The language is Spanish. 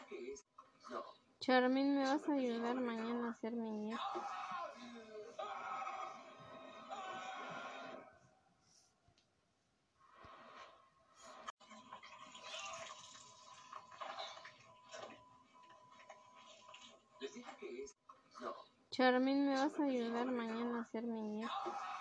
Charmin, ¿me vas a ayudar mañana a hacer mi nieto? Charmin, ¿me vas a ayudar mañana a hacer mi nieto?